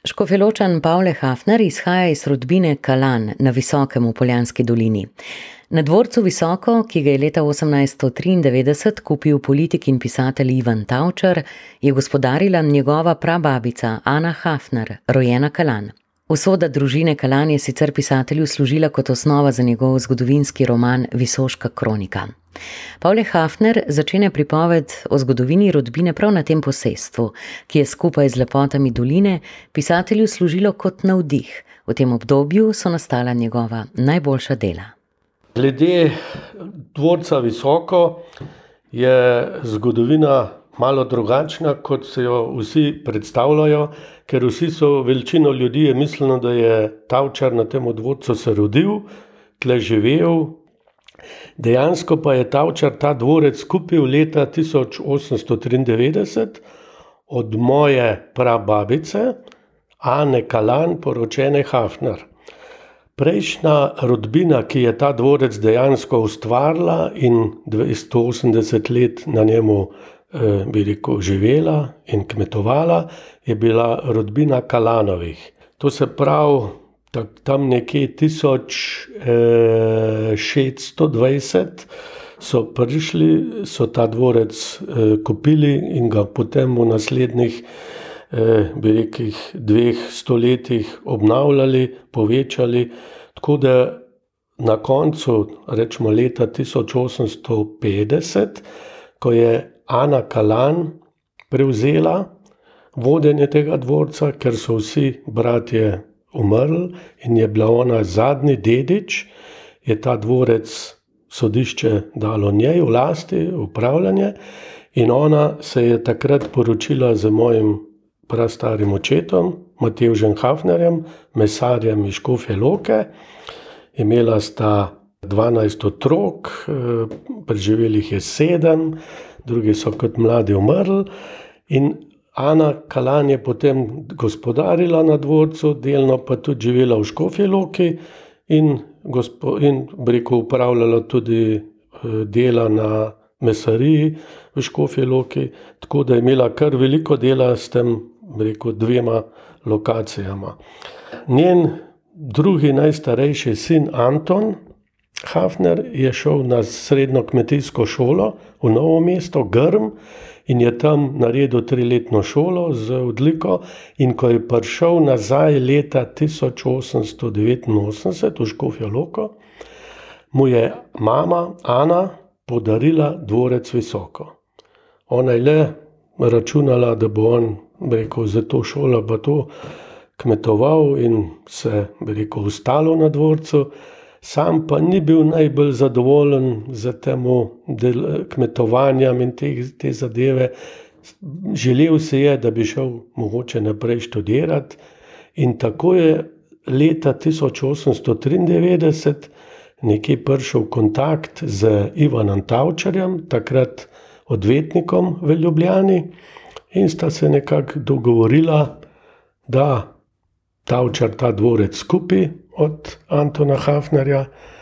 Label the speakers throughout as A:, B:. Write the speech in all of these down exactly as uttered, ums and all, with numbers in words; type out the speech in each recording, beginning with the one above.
A: Škofjeločan Pavle Hafner izhaja iz rodbine Kalan na Visokem v Poljanski dolini. Na dvorcu Visoko, ki ga je leta osemnajststo triindevetdeset kupil politik in pisatelj Ivan Tavčar, je gospodarila njegova prababica Ana Hafner, rojena Kalan. Usoda družine Kalan je sicer pisatelju služila kot osnova za njegov zgodovinski roman Visoška kronika. Pavle Hafner začne pripoved o zgodovini rodbine prav na tem posestvu, ki je skupaj z lepotami doline pisatelju služilo kot navdih. V tem obdobju so nastala njegova najboljša dela.
B: Glede dvorca Visoko je zgodovina malo drugačna, kot se jo vsi predstavljajo, ker vsi so, večino ljudi je mislilo, da je Tavčar na tem dvorcu se rodil, tle živel. Dejansko pa je Tavčar ta dvorec kupil leta tisoč osemsto triindevetdeset od moje prababice Ane Kalan, poročene Hafner. Prejšnja rodbina, ki je ta dvorec dejansko ustvarila in dvesto osemdeset let na njemu eh, bi rekel, živela in kmetovala, je bila rodbina Kalanovih. To se pravi, tam nekje tisoč šeststo dvajset so prišli, so ta dvorec eh, kupili in ga potem v naslednjih eh, bi rekel, dveh stoletjih obnavljali, povečali, tako da na koncu, rečemo leta tisoč osemsto petdeset, ko je Ana Kalan prevzela vodenje tega dvorca, ker so vsi bratje umrli in je bila ona zadnji dedič, je ta dvorec sodišče dalo njej v lasti, upravljanje, in ona se je takrat poročila z mojim prastarim očetom, Matevžem Hafnerjem, mesarjem iz Škofje Loke. Imela sta dvanajst otrok, preživelih je sedem, drugi so kot mladi umrli, in Ana Kalan je potem gospodarila na dvorcu, delno pa tudi živela v Škofji Loki in, gospo, in rekel, upravljala tudi dela na mesariji v Škofji Loki, tako da je imela kar veliko dela s tem, rekel, dvema lokacijama. Njen drugi najstarejši sin Anton Hafner je šel na srednjo kmetijsko šolo v Novo mesto, Grm, in je tam naredil triletno šolo z odliko, in ko je prišel nazaj leta tisoč osemsto devetinosemdeset v Škofjo Loko, mu je mama Ana podarila dvorec Visoko. Ona je le računala, da bo on, rekel, za to šolo pa to kmetoval in se, rekel, ustalo na dvorcu. Sam pa ni bil najbolj zadovoljen z temu kmetovanjem in te, te zadeve. Želel se je, da bi šel mogoče naprej študirati, in tako je leta tisoč osemsto triindevetdeset nekje prišel v kontakt z Ivanom Tavčarjem, takrat odvetnikom v Ljubljani, in sta se nekako dogovorila, da Tavčar ta dvorec kupi od Antona Hafnerja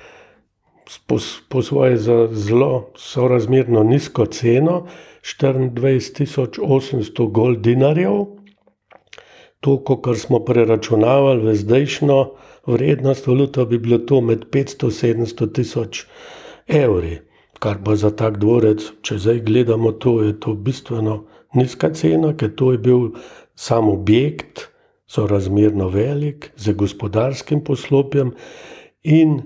B: po, po svoje za zelo sorazmerno nizko ceno, štiriindvajset tisoč osemsto goldinarjev. To, kar smo preračunavali v zdajšnjo vrednost valuto, bi bilo to med petsto in sedemsto tisoč evri, kar pa za tak dvorec, če zdaj gledamo to, je to bistveno nizka cena, ker to je bil sam objekt, sorazmerno velik, z gospodarskim poslopjem in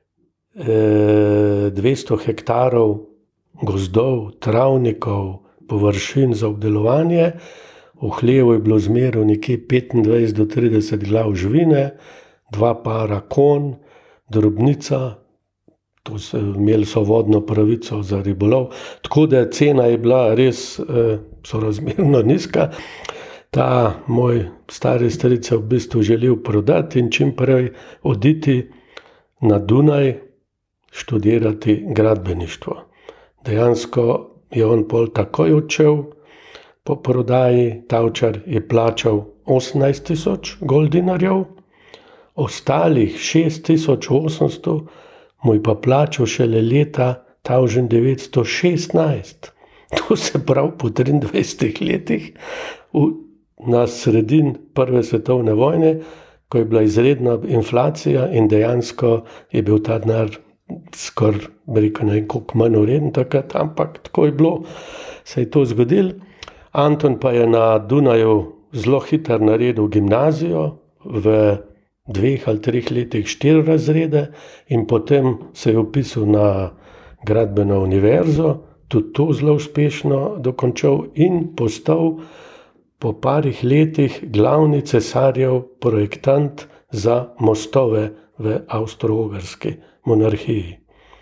B: eh, dvesto hektarov gozdov, travnikov, površin za obdelovanje. V hlevu je bilo zmeraj nekje petindvajset do trideset glav živine, dva para konj, drobnica, to so imeli so vodno pravico za ribolov, tako da cena je bila res eh, sorazmerno nizka. Ta moj stari stric je v bistvu želel prodati in čim prej oditi na Dunaj študirati gradbeništvo. Dejansko je on pol takoj odšel po prodaji. Tavčar je plačal osemnajst tisoč goldinarjev, ostalih šest tisoč osemsto mu je pa plačal šele leta tisoč devetsto šestnajst. To se pravi po triindvajsetih letih. V na sredin prve svetovne vojne, ko je bila izredna inflacija in dejansko je bil ta denar skoraj, rekel, ne vem, koliko manj vreden takrat, ampak tako je bilo, se je to zgodilo. Anton pa je na Dunaju zelo hitro naredil gimnazijo, v dveh ali treh letih štiri razrede in potem se je vpisal na gradbeno univerzo, tudi to zelo uspešno dokončal in postal po parih letih glavni cesarjev projektant za mostove v Avstro-Ogrski monarhiji.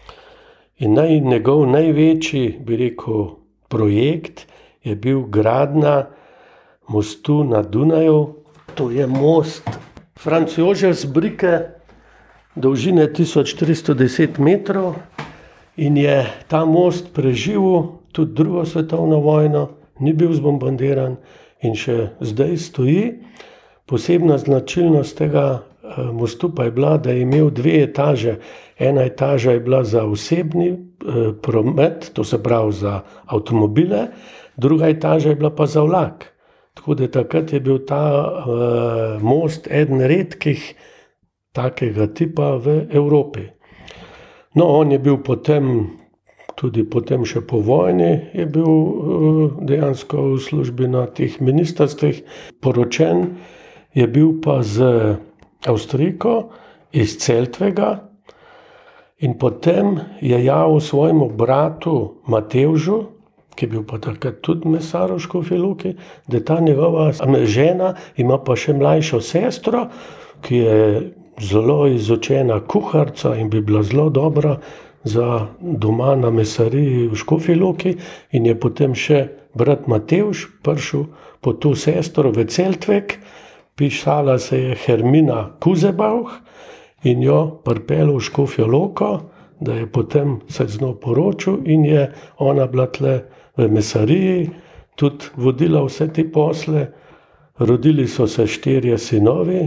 B: In naj, njegov največji, bi rekel, projekt je bil gradnja mostu na Dunaju. To je most Franz Josef z Bricke, dolžine tisoč tristo deset metrov in je ta most preživel tudi drugo svetovno vojno, ni bil zbombardiran in še zdaj stoji. Posebna značilnost tega mostu pa je bila, da je imel dve etaže. Ena etaža je bila za osebni eh, promet, to se pravi za avtomobile, druga etaža je bila pa za vlak. Tako da takrat je bil ta eh, most eden redkih takega tipa v Evropi. No, on je bil potem, tudi potem še po vojni, je bil eh, dejansko v službi na teh ministrstvih. Poročen je bil pa z Avstrijko iz Celtvega in potem je javil svojemu bratu Matevžu, ki je bil pa takrat tudi mesar v Škofji Loki, da ta njegova žena ima pa še mlajšo sestro, ki je zelo izučena kuharica in bi bila zelo dobra za doma na mesariji v Škofji Loki, in je potem še brat Matevž prišel po to sestro v Celtvek. Pisala se je Hermina Kuzebauch in jo pripeljal v Škofjo Loko, da je potem se z njo poročil in je ona bila tle v mesariji, tudi vodila vse te posle. Rodili so se štirje sinovi,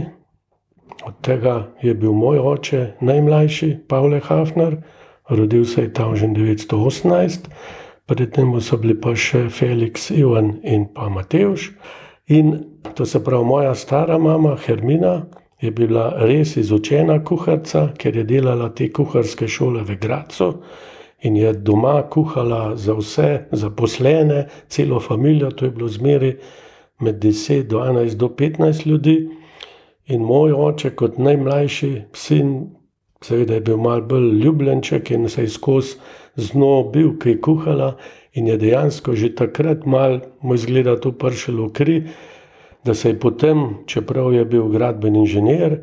B: od tega je bil moj oče najmlajši, Pavle Hafner, rodil se je tam že devetsto osemnajst, pred tem so bili pa še Felix, Ivan in pa Matevž. In to se pravi, moja stara mama Hermina je bila res izučena kuharica, ker je delala te kuharske šole v Gradcu in je doma kuhala za vse zaposlene, celo familijo, to je bilo zmeri med deset, dvanajst do petnajst ljudi. In moj oče kot najmlajši sin, seveda je bil malo bolj ljubljenček in se je skozi z njo bil, ki je kuhala, in je dejansko že takrat malo mu izgleda to pršilo v kri, da se je potem, čeprav je bil gradbeni inženir,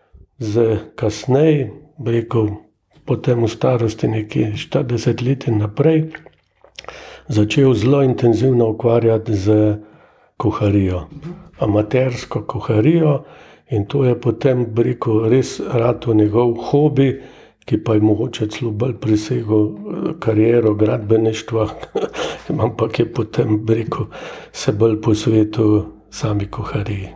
B: z kasneje, rekel, potem v starosti nekje štirideset let in naprej, začel zelo intenzivno ukvarjati z kuharijo, amatersko kuharijo, in to je potem, rekel, res ratal njegov hobi, ki pa je mogoče celo bolj presegel kariero gradbeništva, ampak je potem, rekel, se bolj posvetil sami kuhariji.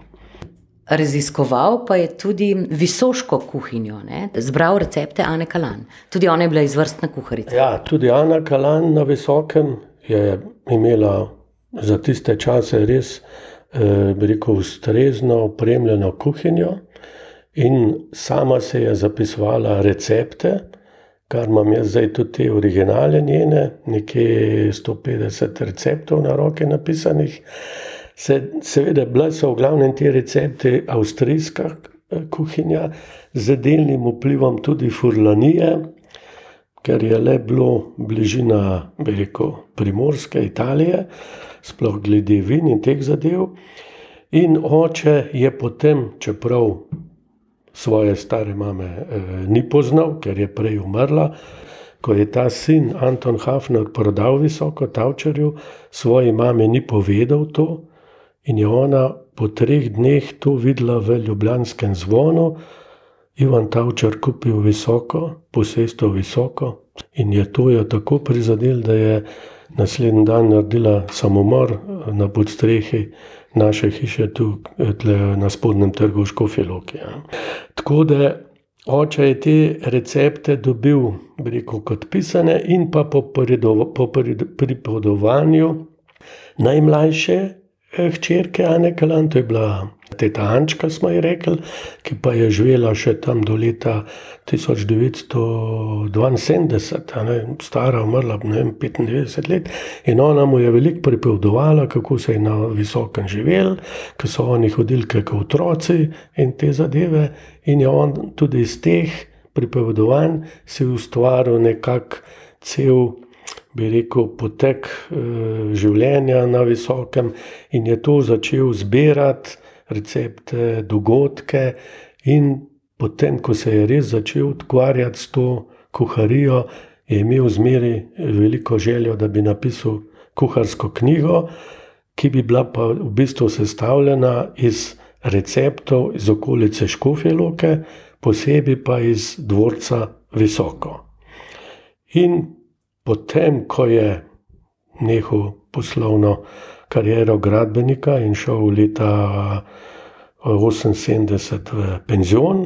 A: Raziskoval pa je tudi visoško kuhinjo, ne? Zbral recepte Ane Kalan. Tudi ona je bila izvrstna kuharica.
B: Ja, tudi Ana Kalan na Visokem je imela za tiste čase res, eh, rekel, ustrezno opremljeno kuhinjo. In sama se je zapisovala recepte, kar imam jaz zdaj tudi te originale njene, nekje sto petdeset receptov na roke napisanih. Se, seveda bile so v glavnem te recepte avstrijska kuhinja, z delnim vplivom tudi Furlanije, ker je le bilo bližina, bi rekel, Primorske Italije, sploh glede vin in teh zadev. In oče je potem, čeprav svoje stare mame eh, ni poznal, ker je prej umrla, ko je ta sin Anton Hafner prodal Visoko Tavčarju, svoji mami ni povedal to in je ona po treh dneh to videla v ljubljanskem Zvonu. Ivan Tavčar kupil Visoko, posestvo Visoko, in je to jo tako prizadel, da je naslednji dan naredila samomor na podstrehi naše hiše tu tle, na Spodnjem trgu v Škofji Loki. Ja. Tako da oče je te recepte dobil, bi rekel, kot pisane, in pa po, po pripovedovanju najmlajše hčerke Ane Kalan, to je bila teta Ančka, smo ji rekli, ki pa je živela še tam do leta tisoč devetsto dvainsedemdeset, a ne, stara, umrla, ne vem, petindevetdeset let. In ona mu je veliko pripovedovala, kako se je na Visokem živel, ko so oni hodili kot otroci in te zadeve. In je on tudi iz teh pripovedovanj si ustvaril nekak cel, bi rekel, potek e, življenja na Visokem in je to začel zbirati recepte, dogodke in potem, ko se je res začel ukvarjati s to kuharijo, je imel zmeri veliko željo, da bi napisal kuharsko knjigo, ki bi bila pa v bistvu sestavljena iz receptov iz okolice Škofje Loke, posebej pa iz dvorca Visoko. In potem, ko je nehal poslovno kariero gradbenika in šel leta oseminsedemdeset v penzion,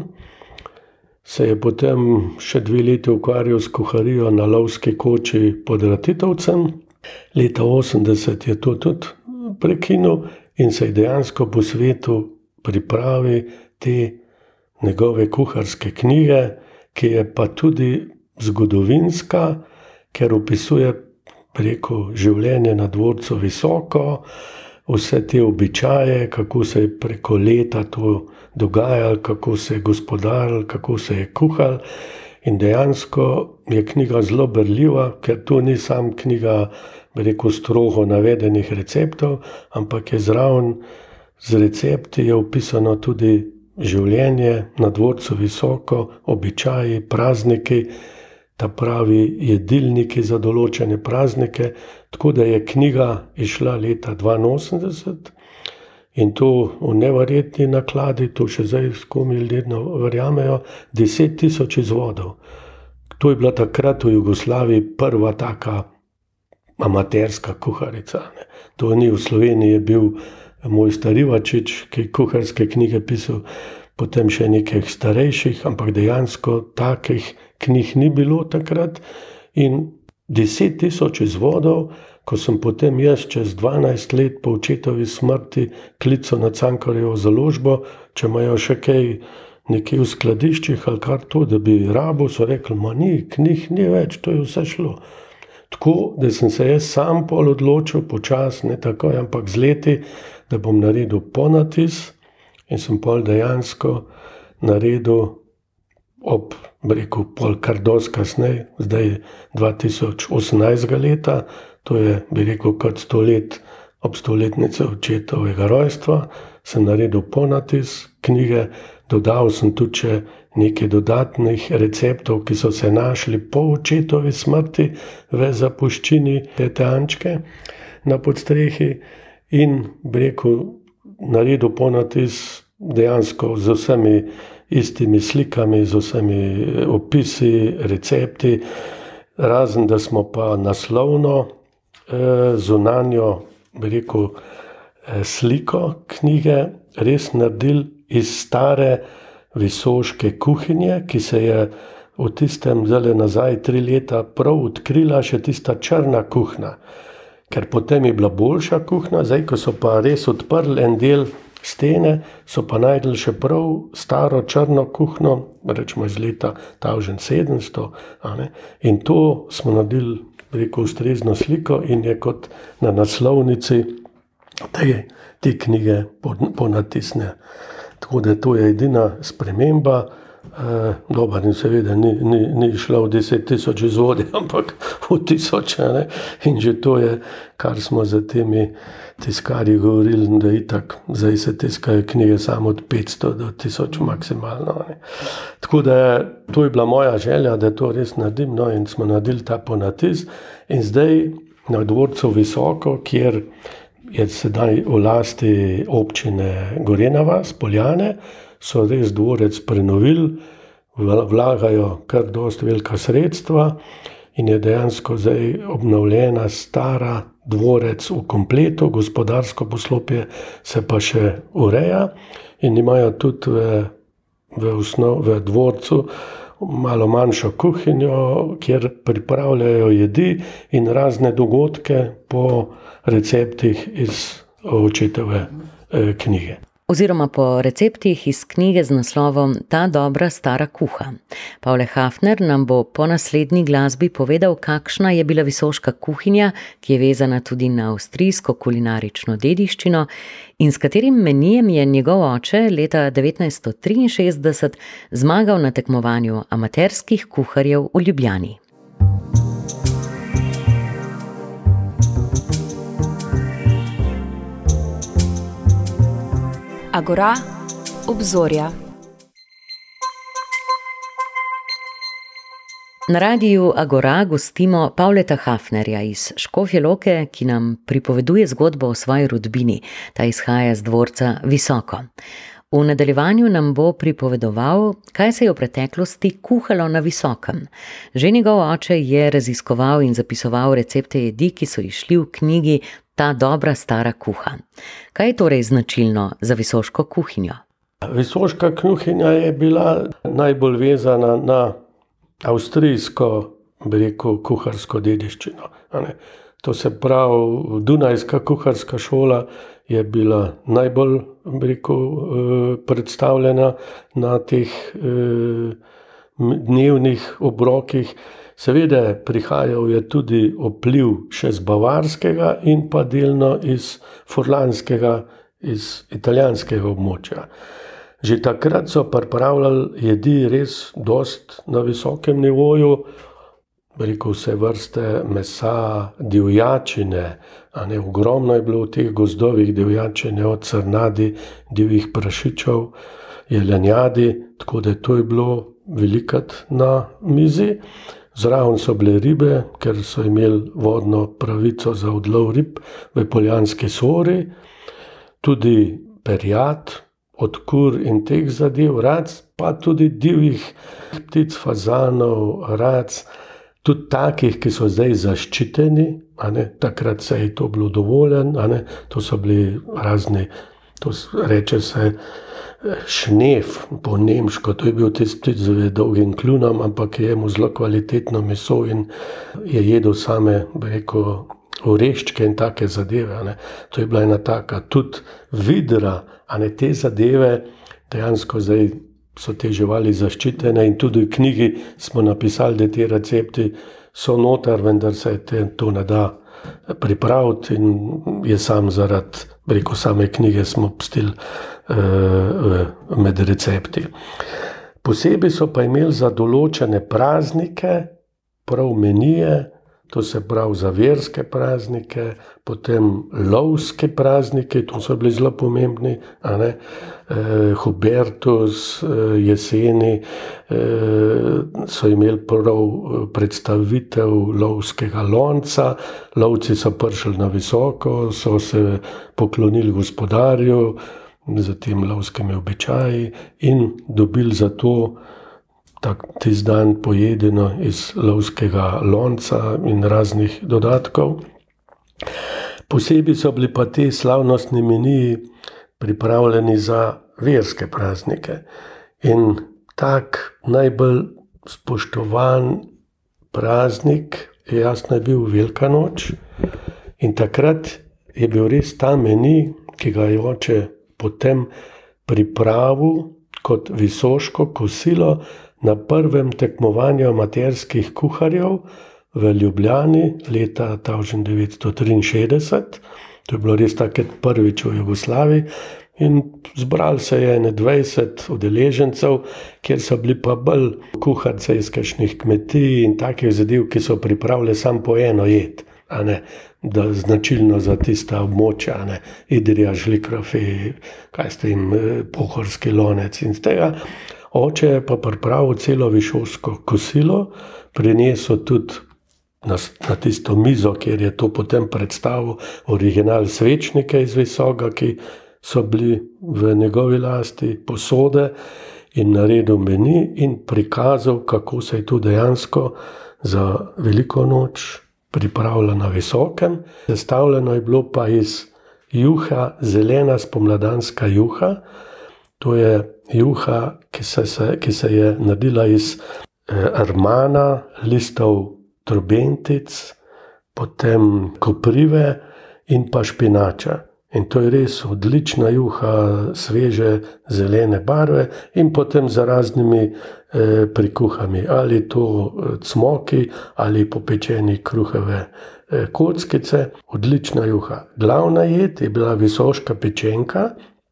B: se je potem še dve leti ukvarjal s kuharijo na lovski koči pod Ratitovcem. Leta osemdeset je to tudi prekinil in se je dejansko po svetu pripravi te njegove kuharske knjige, ki je pa tudi zgodovinska, ker opisuje preko življenje na dvorcu Visoko, vse te običaje, kako se je preko leta to dogajalo, kako se je gospodarilo, kako se je kuhalo. In dejansko je knjiga zelo berljiva, ker to ni sam knjiga, bi rekel, strogo navedenih receptov, ampak je zraven z recepti je opisano tudi življenje na dvorcu Visoko, običaji, prazniki, ta pravi jedilniki za določene praznike, tako da je knjiga išla leta dvainosemdeset in to v neverjetni nakladi, to še zdaj skomi ljudje verjamejo, deset tisoč izvodov. To je bila takrat v Jugoslaviji prva taka amaterska kuharica. Ne. To ni v Sloveniji, je bil Mojster Ivačič, ki je kuharske knjige pisal, potem še nekaj starejših, ampak dejansko takih knjig ni bilo takrat. In deset tisoč izvodov, ko sem potem jaz čez dvanajst let po očetovi smrti klical na Cankarjevo založbo, če imajo še kaj nekje v skladiščih ali kar to, da bi rabo, so rekli, ma ni, knjig ni več, to je vse šlo. Tako, da sem se jaz sam pol odločil, počas, ne takoj, ampak z leti, da bom naredil ponatis in sem pol dejansko naredil ob, rekel, pol kar dosti kasneje, zdaj dva tisoč osemnajstega leta, to je, bi rekel, kot sto let ob stoletnice očetovega rojstva, sem naredil ponatis knjige, dodal sem tudi še nekaj dodatnih receptov, ki so se našli po očetovi smrti v zapuščini tete Ančke na podstrehi in, bi rekel, naredil ponatis dejansko z vsemi istimi slikami, z vsemi opisi, recepti, razen da smo pa naslovno eh, zunanjo, bi rekel, eh, sliko knjige res naredili iz stare visoške kuhinje, ki se je v tistem zdaj nazaj tri leta prav odkrila še tista črna kuhna. Ker potem je bila boljša kuhna, zdaj ko so pa res odprli en del stene, so pa najdli še prav staro črno kuhno, rečemo iz leta tisoč sedemsto, a ne? In to smo naredili, rekel, ustrezno sliko in je kot na naslovnici te, te knjige ponatisne. Tako da to je edina sprememba. Uh, dober in seveda ni, ni, ni šla v deset tisoč izvodi, ampak v tisoče, ne? In že to je, kar smo za temi tiskarji govorili, da itak zdaj se tiskajo knjige samo od petsto do tisoč maksimalno. Ne? Tako da to je bila moja želja, da to res naredim, no, in smo naredili ta ponatis in zdaj na dvorcu Visoko, kjer je sedaj v lasti občine Gorenja vas, Poljane, so res dvorec prenovili, vlagajo kar dosti velika sredstva in je dejansko zdaj obnovljena stara dvorec v kompletu, gospodarsko poslopje se pa še ureja in imajo tudi v, v, osnov, v dvorcu malo manjšo kuhinjo, kjer pripravljajo jedi in razne dogodke po receptih iz očetove eh, knjige.
A: Oziroma po receptih iz knjige z naslovom Ta dobra stara kuha. Pavle Hafner nam bo po naslednji glasbi povedal, kakšna je bila visoška kuhinja, ki je vezana tudi na avstrijsko kulinarično dediščino in s katerim menijem je njegov oče leta devetnajststo triinšestdeset zmagal na tekmovanju amaterskih kuharjev v Ljubljani.
C: Agora, obzorja.
A: Na radiju Agora gostimo Pavleta Hafnerja iz Škofje Loke, ki nam pripoveduje zgodbo o svoji rodbini. Ta izhaja z dvorca Visoko. V nadaljevanju nam bo pripovedoval, kaj se je v preteklosti kuhalo na Visokem. Že njegov oče je raziskoval in zapisoval recepte jedi, ki so izšli v knjigi Ta dobra stara kuha. Kaj je torej značilno za visoško kuhinjo?
B: Visoška kuhinja je bila najbolj vezana na avstrijsko, bi rekel, kuharsko dediščino. To se pravi, Dunajska kuharska šola je bila najbolj, bi rekel, predstavljena na teh dnevnih obrokih. Seveda prihajal je tudi vpliv še z bavarskega in pa delno iz furlanskega, iz italijanskega območja. Že takrat so pripravljali jedi res dost na visokem nivoju, rekel vse vrste mesa, divjačine, a ne, ogromno je bilo v teh gozdovih divjačine, od srnadi, divjih prašičev, jelenjadi, tako da to je bilo velikrat na mizi. Zraven so bile ribe, ker so imeli vodno pravico za odlov rib v Poljanski Sori, tudi perjad, od kur in teh zadev, rac, pa tudi divjih ptic, fazanov, rac, tudi takih, ki so zdaj zaščiteni, a ne, takrat se je to bilo dovoljen, a ne, to so bili razni, to reče se šnef po nemško, to je bil tisti ptic z dolgim kljunom, ampak je imel zelo kvalitetno meso in je jedel same, bi rekel, oreščke in take zadeve, a ne. To je bila ena taka, tudi vidra, a ne, te zadeve, dejansko zdaj so te živali zaščitene in tudi v knjigi smo napisali, da te recepti so noter, vendar se te, to ne da pripraviti in je sam zaradi, bi rekel, same knjige smo pustili uh, med recepti. Posebej so pa imeli za določene praznike, prav menije, to se pravi za verske praznike, potem lovske praznike, to so bili zelo pomembni, a ne, eh, Hubertus, eh, jeseni, eh, so imeli prav predstavitev lovskega lonca, lovci so prišli na Visoko, so se poklonili gospodarju, za tem lovskimi običaji in dobili za to tisti dan pojedeno iz lovskega lonca in raznih dodatkov. Posebej so bili pa te slavnostni meniji pripravljeni za verske praznike. In tak najbolj spoštovan praznik je jasno je bil Velika noč. In takrat je bil res ta menij, ki ga je oče potem pripravil kot visoško kosilo na prvem tekmovanju amaterskih kuharjev v Ljubljani leta tisoč devetsto triinšestdeset. To je bilo res takrat prvič v Jugoslaviji in zbrali se je ene dvajset udeležencev, kjer so bili pa bolj kuharce iz kakšnih kmetij in takih zadev, ki so pripravili samo po eno jed, a ne, da značilno za tista območja, a ne, Idrija, Žlikrofi, kaj ste jim, pohorski lonec in z tega. Oče je pa pripravil celo visoško kosilo, prinesel tudi na, na tisto mizo, kjer je to potem predstavil, original svečnike iz Visoka, ki so bili v njegovi lasti, posode, in naredil meni in prikazal, kako se je to dejansko za Veliko noč pripravilo na Visokem. Sestavljeno je bilo pa iz juha, zelena spomladanska juha. To je juha, ki se, se, ki se je naredila iz eh, armana, listov trobentic, potem koprive in pa špinača. In to je res odlična juha, sveže, zelene barve in potem za raznimi eh, prikuhami. Ali to cmoki, ali popečeni kruhove eh, kockice. Odlična juha. Glavna jed je bila visoška pečenka.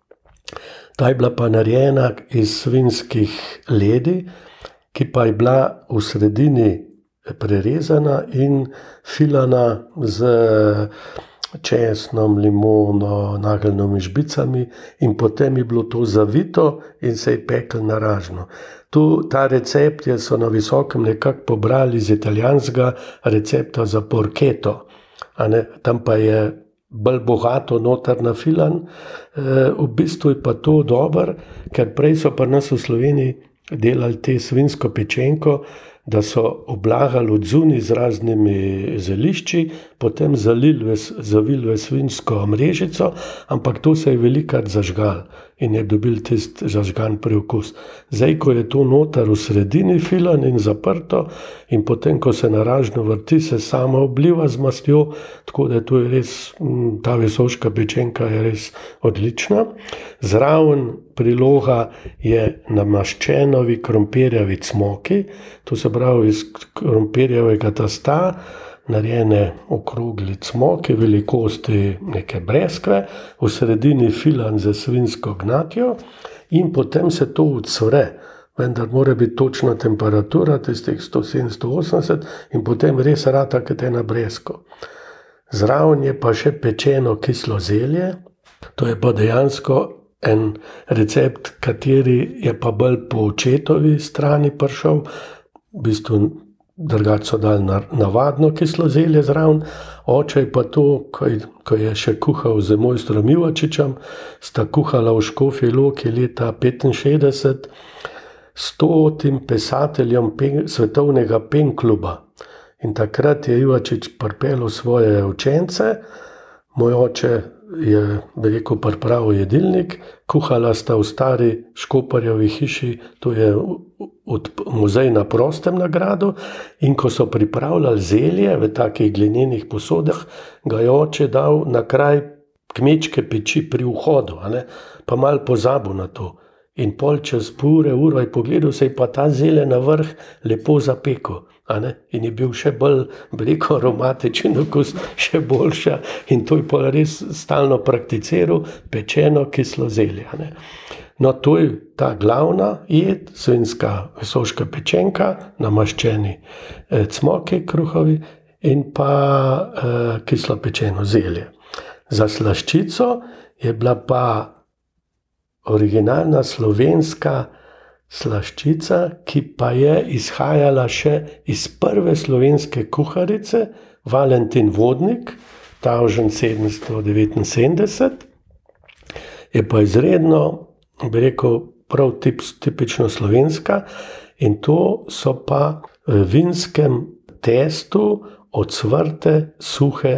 B: Ta je bila pa narejena iz svinjskih ledi, ki pa je bila v sredini prerezana in filana z česnom, limono, nageljnimi žbicami in potem je bilo to zavito in se je peklo na ražno. Tu, ta recept je so na Visokem nekako pobrali iz italijanskega recepta za porketo. A ne, tam pa je bolj bogato noter nafilan. E, v bistvu je pa to dobro, ker prej so pa nas v Sloveniji delali te svinjsko pečenko, da so oblagali od zunaj z raznimi zelišči, potem zalili, zavili v svinjsko mrežico, ampak to se je velikrat zažgal in je dobil tisti zažgan preokus. Zdaj, ko je to noter v sredini filan in zaprto in potem, ko se na ražno vrti, se sama obliva z mastjo, tako da to je res, ta visoška pečenka je res odlična. Zraven priloga je namaščenovi krompirjevi cmoki, to se pravi iz krompirjevega testa, narejene okrogli cmoki, velikosti neke breskve, v sredini filan za svinjsko gnatjo in potem se to ucvre, vendar mora biti točna temperatura, tistih sto sedemdeset do sto osemdeset in potem res rata kot ena bresko. Zraven je pa še pečeno kislo zelje, to je pa dejansko en recept, kateri je pa bolj po očetovi strani prišel, v bistvu drugače so dali navadno kislo zelje zraven. Oče je pa to, ko je, ko je še kuhal z mojstrom Ivačičem, sta kuhala v Škofji Loki leta petinšestdeset s stotim pisateljem pen, svetovnega penkluba. In takrat je Ivačič pripeljal svoje učence, moj oče je, bi rekel, pripravil jedilnik, kuhala sta v stari Škoparjevi hiši, to je od muzej na prostem na gradu, in ko so pripravljali zelje v takih glinenih posodah, ga je oče dal na kraj kmečke peči pri vhodu, a ne, pa malo pozabil na to. In pol čez pure uro je pogledal, se je pa ta zelje na vrh lepo zapekel. A ne? In je bil še bolj, bi rekel, aromatičen okus, še boljša. In to je pa res stalno prakticiral, pečeno kislo zelje. A ne? No, to je ta glavna jed, svinjska visoška pečenka, namaščeni eh, cmoki kruhovi in pa eh, kislo pečeno zelje. Za slaščico je bila pa originalna slovenska slaščica, ki pa je izhajala še iz prve slovenske kuharice, Valentin Vodnik, tisoč sedemsto devetinsedemdeset, je pa izredno, bi rekel, prav tip, tipično slovenska in to so pa v vinskem testu ocvrte suhe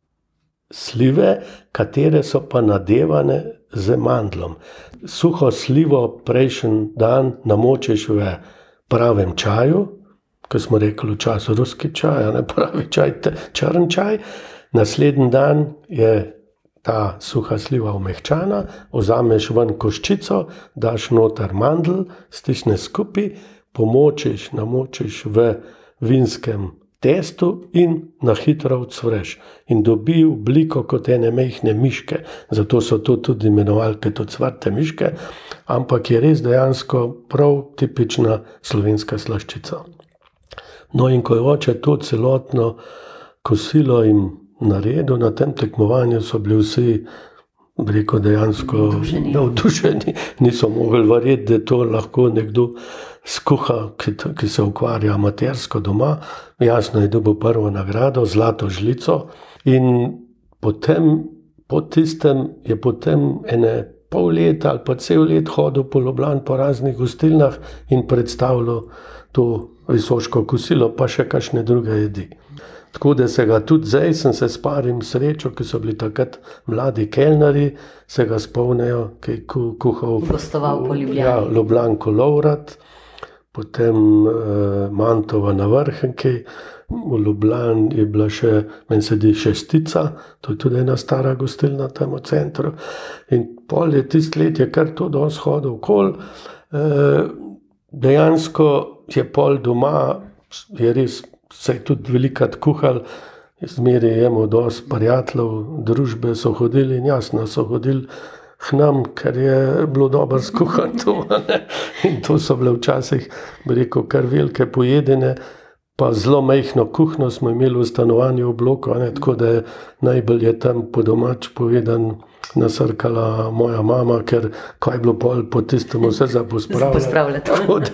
B: slive, katere so pa nadevane z mandlom. Suho slivo prejšnji dan namočiš v pravem čaju, ko smo rekli v času ruski čaj, ne pravi čaj, črn čaj. Naslednji dan je ta suha sliva omehčana, vzameš ven koščico, daš noter mandl, stisneš skupaj, pomočiš, namočiš v vinskem testu in na hitro odsvreš. In dobi obliko kot ene mehne miške. Zato so to tudi imenovali kot ocvrte miške, ampak je res dejansko prav tipična slovenska slaščica. No, in ko je oče to celotno kosilo jim naredil, na tem tekmovanju so bili vsi, bi rekel, dejansko navdušeni. Niso mogli verjeti, da to lahko nekdo skuha, ki, ki se ukvarja amatersko doma. Jasno je dobil prvo nagrado, zlato žlico. In potem, po tistem je potem ene pol leta ali pa cel let hodil po Ljubljani po raznih gostilnah in predstavljal to visoško kosilo, pa še kakšne druge jedi. Tako da se ga tudi zdaj, sem se s parim srečo, ki so bili takrat mladi kelnari, se ga spomnejo, ki je kuhal
A: gostoval po Ljubljani.
B: Ja, Ljubljanko Lovrat, potem eh, Mantova na Vrhnki, v Ljubljani je bila še, meni se di Šestica, to je tudi ena stara gostilna tam v centru. In pol je tist let je kar to dosti hodil okoli. E, dejansko je pol doma, je res, se je tudi velikrat kuhal, zmeri je imel dosti prijateljev, družbe so hodili in jasno so hodili k nam, ker je bilo dobro skuhan to. Ne? In to so bile včasih, bi rekel, kar velike pojedine, pa zelo majhno kuhno smo imeli v stanovanju v bloku, ne? Tako da je najbolj je tam po domač povedan nasrkala moja mama, ker kaj je bilo pol po tistem vse za pospravljati.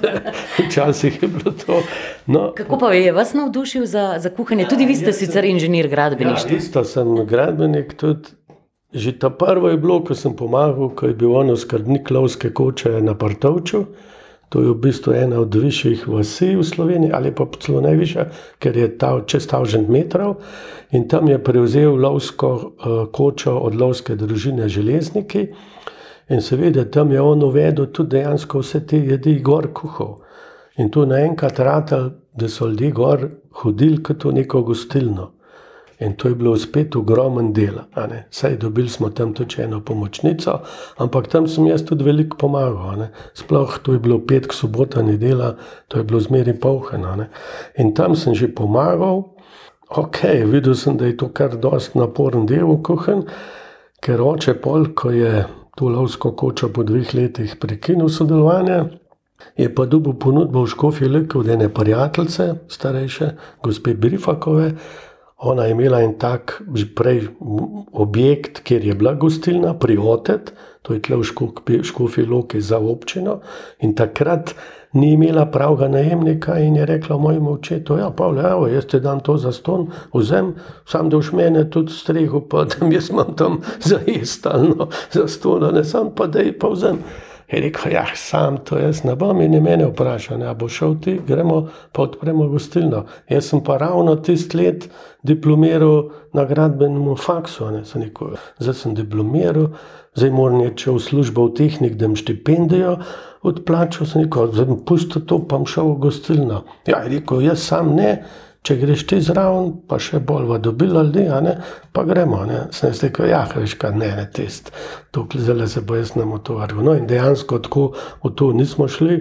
B: Včasih je bilo to. No,
A: kako pa je vas navdušil za, za kuhanje? Tudi vi ste sicer inženir gradbeništva.
B: Ja, isto sem gradbenik tudi. Že ta prvo je bilo, ko sem pomagal, ko je bil ono skrbnik lovske koče na Partovču. To je v bistvu ena od višjih vasi v Sloveniji, ali pa celo najvišja, ker je ta čez tisoč metrov. In tam je prevzel lovsko uh, kočo od lovske družine Železniki. In seveda tam je on uvedel tudi dejansko vse te jedi gor kuhal. In tu naenkrat ratal, da so ljudje gor hodili kot v neko gostilno. In to je bilo spet ogromen dela. Saj dobili smo tam tudi eno pomočnico, ampak tam sem jaz tudi veliko pomagal. Ne? Sploh to je bilo petk, sobota, nedela, to je bilo zmeri polheno. Ne? In tam sem že pomagal. Ok, videl sem, da je to kar dosti naporen del v kuhanj, ker oče pol, ko je to lovsko kočo po dveh letih prekinil sodelovanje, je pa dobil ponudbo v Škofji Loki od ene prijateljice, starejše, gospe Brifakove. Ona je imela en tak že prej objekt, kjer je bila gostilna, Priotet, to je tle v Škofji Loki za občino. In takrat ni imela pravega najemnika in je rekla mojemu očetu, ja, Pavle, evo, jaz ti dam to zastonj, vzem, sam da už mene tudi strehu, pa da jaz imam tam za jestalno zastonj, ne sam pa da pa vzem. Je rekel, ja, sam to jaz ne bom in je mene vprašal, a bo šel ti, gremo pa odpremo gostilno. Jaz sem pa ravno tist let diplomiral na gradbenem faksu, ne, sem rekel, zdaj sem diplomiral, zdaj moram iti v službo v tehnik, da im štipendijo odplačal, sem rekel, zdaj bom pustil to, pa bom šel v gostilno. Ja, je rekel, jaz sam ne, če greš ti zraven, pa še bolj dobila ljudi, a ne, pa gremo, ne. Sem jaz rekel, ja, veš kaj, ne, ne, tist, to zdaj se bo jaz nam utovaril. No in dejansko tako v to nismo šli.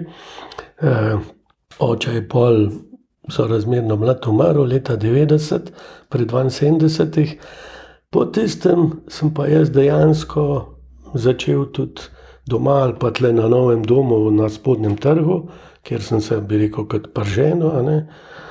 B: E, oče je pol, so razmerno mlad umrl, leta devetdeset, pri dvainsedemdesetih. Po tistem sem pa jaz dejansko začel tudi doma ali pa tle na novem domu na Spodnjem trgu, kjer sem se, bi rekel, kot prženo, a ne.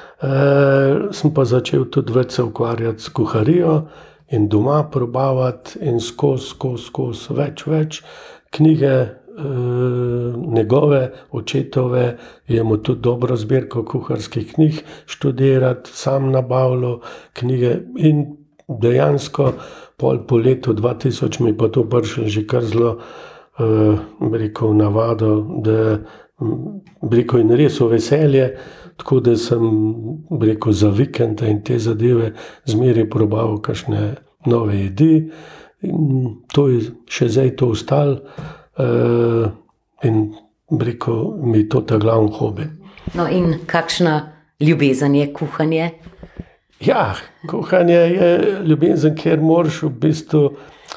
B: E, sem pa začel tudi več se ukvarjati s kuharijo in doma probavati in skozi, skozi, skozi, več, več knjige e, njegove, očetove, imamo tudi dobro zbirko kuharskih knjig, študirati, sam nabavljal knjige in dejansko pol po letu dva tisoč mi pa to prišlo že kar zelo, e, bi rekel, navado, da bi rekel, in res v veselje. Tako da sem, bi rekel, za vikende in te zadeve zmeri probaval kakšne nove jedi. In to je še zdaj to ostalo. Uh, in, bi rekel, mi je to ta glavni hobi.
A: No in kakšna ljubezen je kuhanje?
B: Ja, kuhanje je ljubezen, kjer moraš v bistvu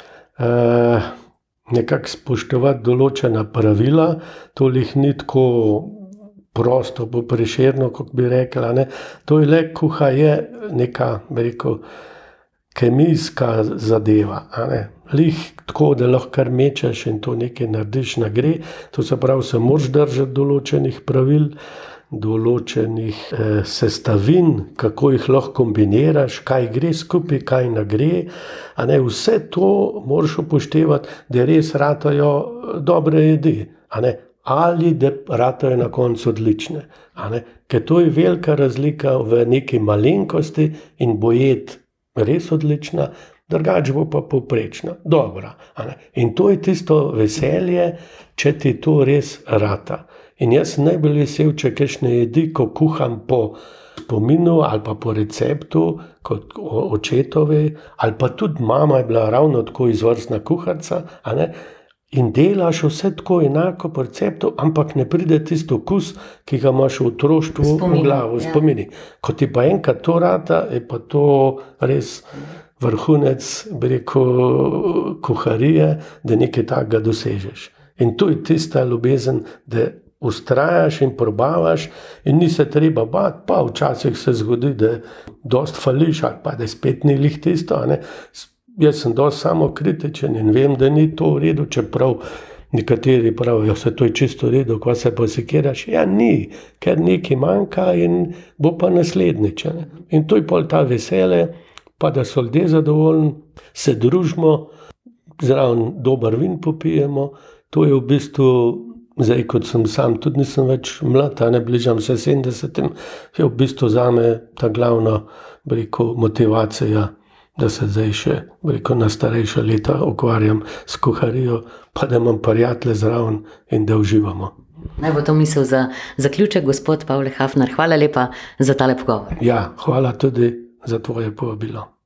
B: uh, nekako spoštovati določena pravila. To jih ni tako prosto, bo Prešerno, kot bi rekla, ne. To je le, kuha je neka, bi rekel, kemijska zadeva, a ne. Lih tako, da lahko kar mečeš in to nekaj narediš na gre. To se pravi, se moraš držati določenih pravil, določenih eh, sestavin, kako jih lahko kombiniraš, kaj gre skupaj, kaj ne gre. A ne, vse to moraš upoštevati, da res ratajo dobre jedi, a ne. Ali da ratajo na koncu odlične. A ne? Ker to je velika razlika v neki malenkosti in bo jed res odlična, drugače bo pa povprečna, dobra. A ne? In to je tisto veselje, če ti to res rata. In jaz sem najbolj vesel, če kakšne jedi, ko kuham po spominu ali pa po receptu, kot očetovi, ali pa tudi mama je bila ravno tako izvrstna kuharca, a ne? in delaš vse tako enako po receptu, ampak ne pride tisto okus, ki ga imaš v otroštvu v glavu, v spomini. Ko ti pa enkrat to rata, je pa to res vrhunec, bi rekel, kuharije, da nekaj takega dosežeš. In to je tista ljubezen, da ustrajaš in probavaš in ni se treba bati, pa včasih se zgodi, da dost fališ ali pa da spet ni lih tisto, ne. Jaz sem dosti samokritičen in vem, da ni to v redu, čeprav nekateri pravijo, se to je čisto v redu, ko se posekiraš. Ja, ni, ker nekaj manjka in bo pa naslednjič. Ne. In to je pol ta vesele, pa da so ljudje zadovoljni, se družimo, zraven dober vin popijemo. To je v bistvu, zdaj kot sem sam, tudi nisem več mlad, ne bližam se sedemdesetim, je v bistvu zame ta glavna, bi rekel, motivacija, da se zdaj še, bi rekel, na starejša leta ukvarjam s kuharijo, pa da imam prijatelje zraven in da uživamo.
A: Naj bo to misel za zaključek, gospod Pavle Hafner. Hvala lepa za tale pogovor.
B: Ja, hvala tudi za tvoje povabilo.